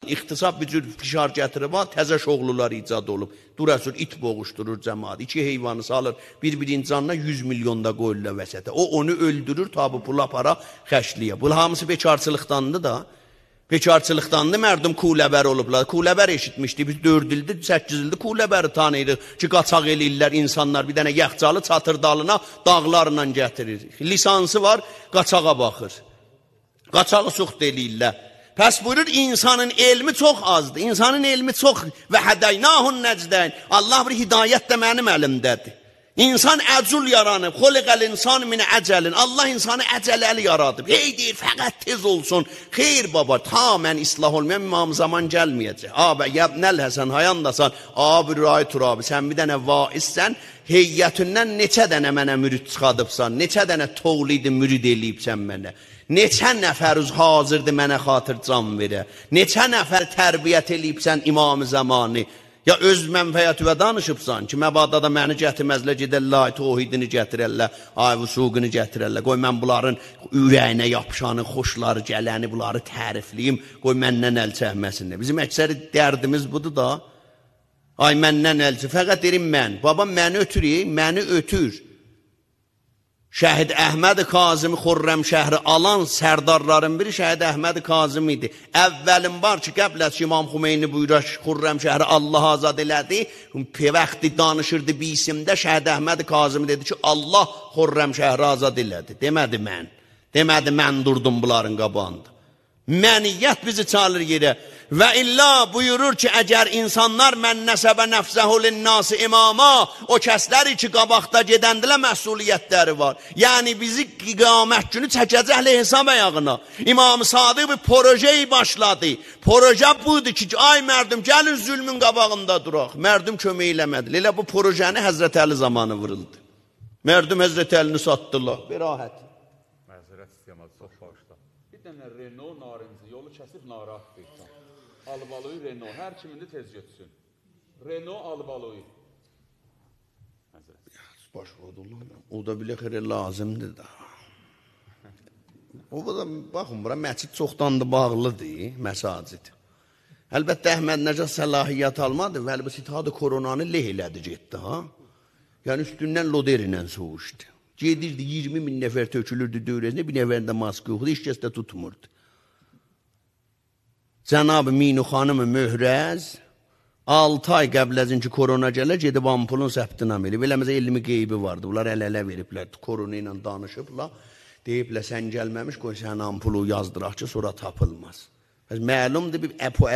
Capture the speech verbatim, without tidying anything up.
ixtisab bir cür fişar gətirib, təzə şoğlular icad olub. Durasır, it boğuşdurur cəmaat. İki heyvanı salır, bir-birinin canına yüz milyonda qoyurlar vəsətə. O, onu öldürür, tabi pula para xəşliyə. Bu hamısı bekarçılıqdandır da. Bekarçılıqdandır, mərdum kuləbər olublar. Kuləbər eşitmişdi, biz dörd ildir, səkkiz ildir kuləbəri tanıyırıq ki, qaçaq eləyirlər insanlar, bir dənə yaxcalı çatır dalına, dağlarla gətirir. Lisansı var, qaçağa baxır. Qaçağı çox deliyirlər. Pəs buyurur, insanın elmi çox azdır. İnsanın elmi çox və hədəynahun nəcdən. Allah bir hidayət də mənim əlimdədir. İnsan əcul yaranıb, xoliqəl insan min əcəlin. Allah insanı əcələli yaradıb. Hey deyir, fəqət tez olsun. Xeyr baba, ta mən islah olmayan imam zaman gəlməyəcək. Abi, yəbnəl həsən, hayandasan. Abi, rəy turabi, sən bir dənə vaizsən, heyyətindən neçə dənə mənə mürid çıxadıbsan, neçə dənə toğlidi mürid eləyibsən mənə. Neçə nəfərüz hazırdır mənə xatır can verə. Neçə nəfər tərbiyyət eləyibsən imam-ı zamanı. Ya öz mənfəyyəti və danışıbsan ki, məbadda da məni gətirməzlə gedərlər, tohidini gətirərlər, ay vüsuqunu gətirərlər. Qoy mən bunların ürəyinə yapışanı, xoşları gələni, bunları tərifliyim, qoy məndən əl çəkməsinlər. Bizim əksəri dərdimiz budur da. Ay məndən əl çək, fəqət derim mən. Babam məni ötürür, məni ötür. Şəhid Əhməd Kazım Xurrəm şəhri alan sərdarların biri Şəhid Əhməd Kazım idi. Əvvəlin var ki, qəblət ki, İmam Xümeyni buyurur, Xurrəm şəhri Allah azad elədi. Vaxtı danışırdı bir isimdə, Şəhid Əhməd Kazım dedi ki, Allah Xurrəm şəhri azad elədi. Demədi mən. Demədi mən durdum bunların qabağında. Məniyyət bizi çalır yerə. Və illa buyurur ki, əgər insanlar mən nəsəbə nəfsəhu linnası imama, o kəsləri ki, qabaqda gedəndilə məsuliyyətləri var. Yəni, bizi qiyamət günü çəkəcəklə hesab ayağına. İmam-ı Sadıq bir projeyi başladı. Proje budur ki, ay mərdum, gəlin zülmün qabağında duraq. Mərdum kömək eləmədi. Elə bu projəni Həzrət Əli zamanı vuruldu. Mərdum Həzrət Əlini satdılar. Berahət. Məzərət istəyəməz, çox bağışda. Bir dənə Renault narıncı yolu kəsib narahat deyirsən. Albalığı Renault, hər kimində tez götürsün. Renault albalığı. Baş o da bilə xeyr lazımdır da. O da, baxın, bura məscid çoxdan da bağlıdır, məsacid. Əlbəttə, Əhməd Nəcəd səlahiyyət almadı və əlbəttə itadə koronanı leh elədi getdi, ha? Yəni, üstündən loder ilə soğuşdu. Gedirdi, iyirmi min nəfər tökülürdü dövrəsində, bir nəfərində maskı yoxdu, heç kəs də tutmurdu. Cənab-ı Minu xanımı Möhrəz altı ay qəbləzin ki, korona gələr, gedib ampulun səbtinam elib. Eləməzə elmi qeybi vardı. Bunlar əl-ələ veriblər, korona ilə danışıblar. Deyiblər, sən gəlməmiş, qoy sən ampulu yazdıraq ki, sonra tapılmaz. Məlumdur, bir